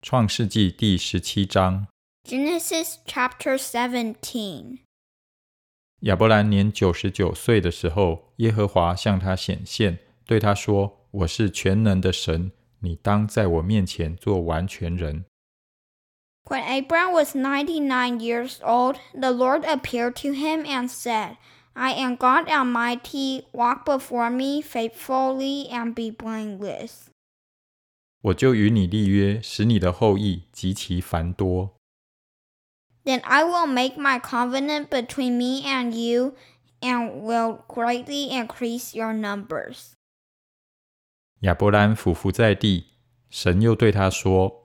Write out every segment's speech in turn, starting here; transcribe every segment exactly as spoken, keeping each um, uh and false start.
创世纪第十七章 Genesis chapter seventeen. 亚伯兰年九十九岁的时候，耶和华向他显现，对他说：我是全能的神，你当在我面前做完全人。 When Abram was ninety-nine years old, the Lord appeared to him and said, I am God Almighty, walk before me faithfully and be blameless. 我就与你立约，使你的后裔极其繁多。 Then I will make my covenant between me and you, and will greatly increase your numbers. 亚伯兰俯伏在地，神又对他说：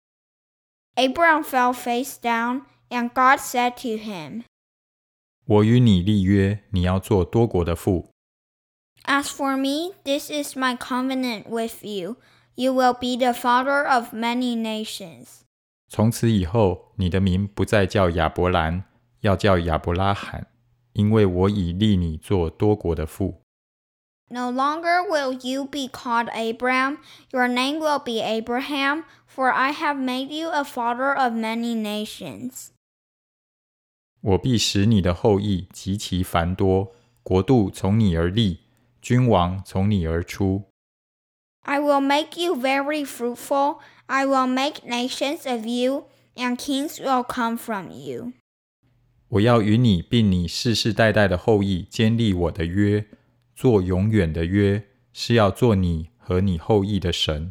Abram fell face down, and God said to him, 我与你立约，你要做多国的父。 As for me, this is my covenant with you. You will be the father of many nations. 从此以后，你的名不再叫亚伯兰，要叫亚伯拉罕，因为我已立你做多国的父。 No longer will you be called Abram, your name will be Abraham, for I have made you a father of many nations. 我必使你的后裔极其繁多，国度从你而立，君王从你而出。 I will make you very fruitful. I will make nations of you, and kings will come from you. 我要与你并你世世代代的后裔坚立我的约，做永远的约，是要做你和你后裔的神。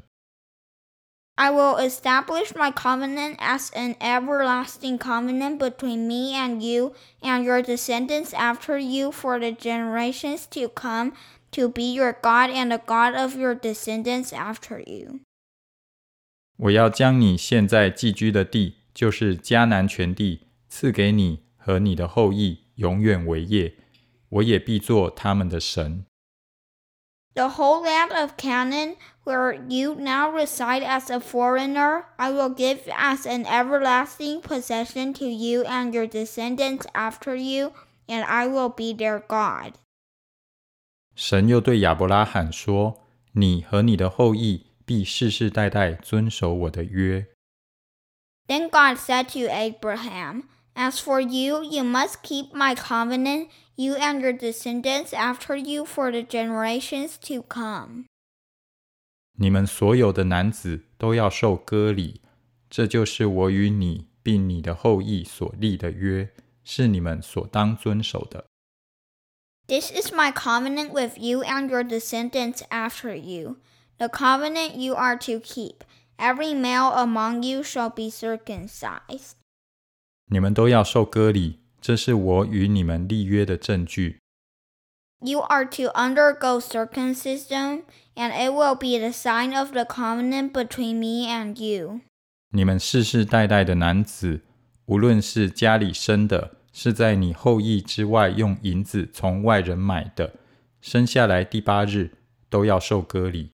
I will establish my covenant as an everlasting covenant between me and you and your descendants after you for the generations to come, to be your God and the God of your descendants after you. 我要将你现在寄居的地，就是迦南全地，赐给你和你的后裔永远为业，我也必做他们的神。 The whole land of Canaan, where you now reside as a foreigner, I will give as an everlasting possession to you and your descendants after you, and I will be their God. 神又对亚伯拉罕说：你和你的后裔必世世代代遵守我的约。 Then God said to Abraham, As for you, you must keep my covenant, you and your descendants after you for the generations to come. 你们所有的男子都要受割礼，这就是我与你并你的后裔所立的约，是你们所当遵守的。 This is my covenant with you and your descendants after you, the covenant you are to keep. Every male among you shall be circumcised. 你们都要受割礼，这是我与你们立约的证据。 You are to undergo circumcision, and it will be the sign of the covenant between me and you. 你们世世代代的男子，无论是家里生的，是在你后裔之外用银子从外人买的，生下来第八日都要受割礼。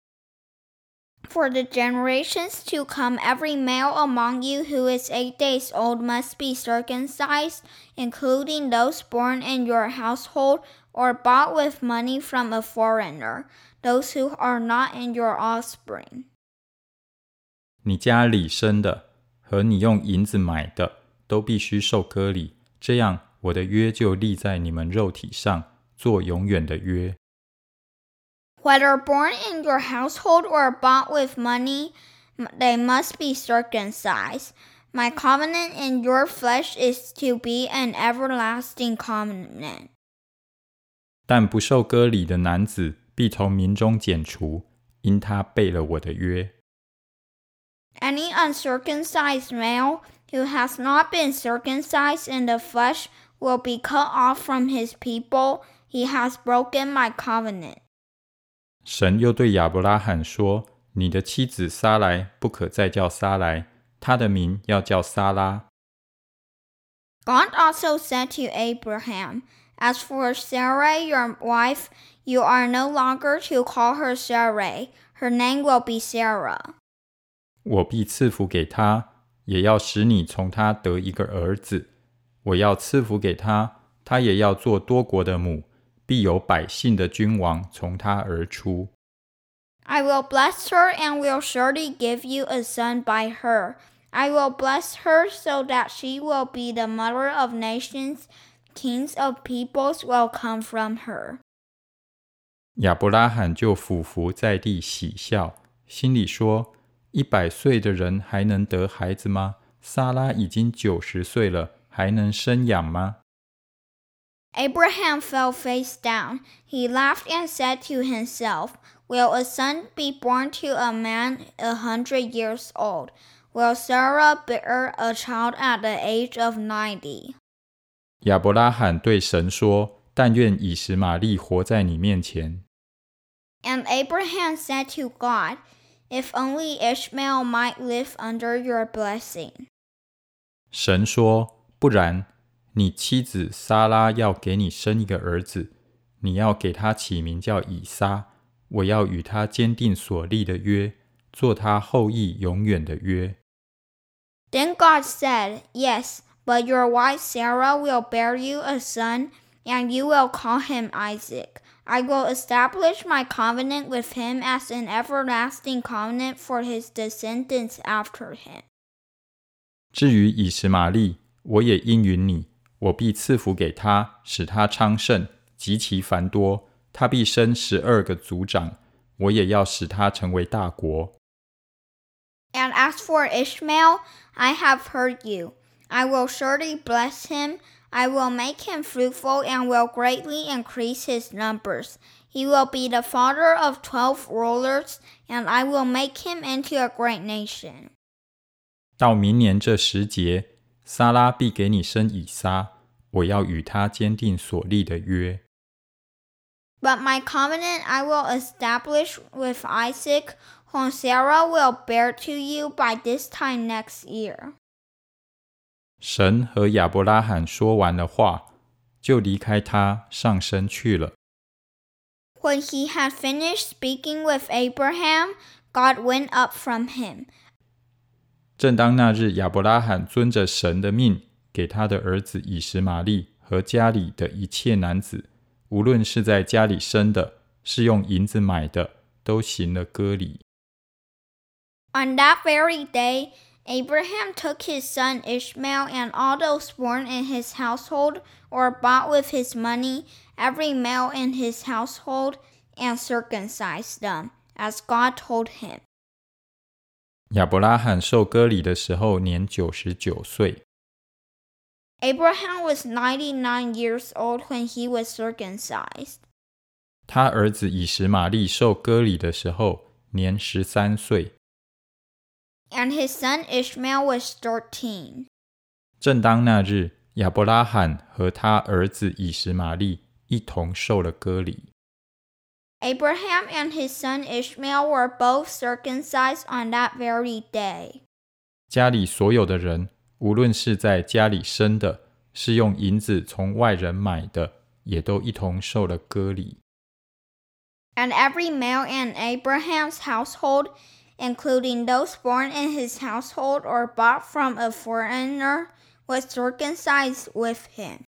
For the generations to come, every male among you who is eight days old must be circumcised, including those born in your household or bought with money from a foreigner, those who are not in your offspring. 你家里生的和你用银子买的，都必须受割礼，这样我的约就立在你们肉体上，做永远的约。 Whether born in your household or bought with money, they must be circumcised. My covenant in your flesh is to be an everlasting covenant. 但不受割礼的男子必从民中剪除，因他背了我的约。 Any uncircumcised male who has not been circumcised in the flesh will be cut off from his people. He has broken my covenant. 神又对亚伯拉罕说：你的妻子撒来不可再叫撒来，她的名要叫撒拉。 God also said to Abraham, As for Sarai, your wife, you are no longer to call her Sarai. Her name will be Sarah. 我必赐福给她，也要使你从她得一个儿子。我要赐福给她，她也要做多国的母，必有百姓的君王从她而出。 I will bless her and will surely give you a son by her. I will bless her so that she will be the mother of nations. Kings of peoples will come from her. 亚伯拉罕就俯伏在地喜笑，心里说：一百岁的人还能得孩子吗？撒拉已经九十岁了，还能生养吗？ Abraham fell face down. He laughed and said to himself, Will a son be born to a man a hundred years old? Will Sarah bear a child at the age of ninety? 亚伯拉罕对神说：但愿以实玛利活在你面前。 And Abraham said to God, If only Ishmael might live under your blessing. 神说：不然，你妻子撒拉要给你生一个儿子，你要给他起名叫以撒，我要与他坚定所立的约，做他后裔永远的约。 Then God said, Yes, but your wife Sarah will bear you a son, and you will call him Isaac. I will establish my covenant with him as an everlasting covenant for his descendants after him. 至于以实玛利，我也应允你，我必赐福给他，使他昌盛，极其繁多。他必生十二个族长，我也要使他成为大国。 And as for Ishmael, I have heard you. I will surely bless him. I will make him fruitful and will greatly increase his numbers. He will be the father of twelve rulers, and I will make him into a great nation. 到明年这时节，撒拉必给你生以撒，我要与他坚定所立的约。 But my covenant I will establish with Isaac, whom Sarah will bear to you by this time next year. 神和亚伯拉罕说完了话，就离开他上升去了。 When he had finished speaking with Abraham, God went up from him. 正当那日，亚伯拉罕遵着神的命，给他的儿子以实玛利和家里的一切男子，无论是在家里生的，是用银子买的，都行了割礼。 On that very day, Abraham took his son Ishmael and all those born in his household or bought with his money, every male in his household, and circumcised them, as God told him. 亚伯拉罕受割礼的时候年九十九岁。 Abraham was ninety-nine years old when he was circumcised. 他儿子以实玛利受割礼的时候年十三岁。 And his son Ishmael was thirteen. 正当那日，亚伯拉罕和他儿子以实玛利一同受了割礼。 Abraham and his son Ishmael were both circumcised on that very day. 家里所有的人，无论是在家里生的，是用银子从外人买的，也都一同受了割礼。 And every male in Abraham's household, including those born in his household or bought from a foreigner, was circumcised with him.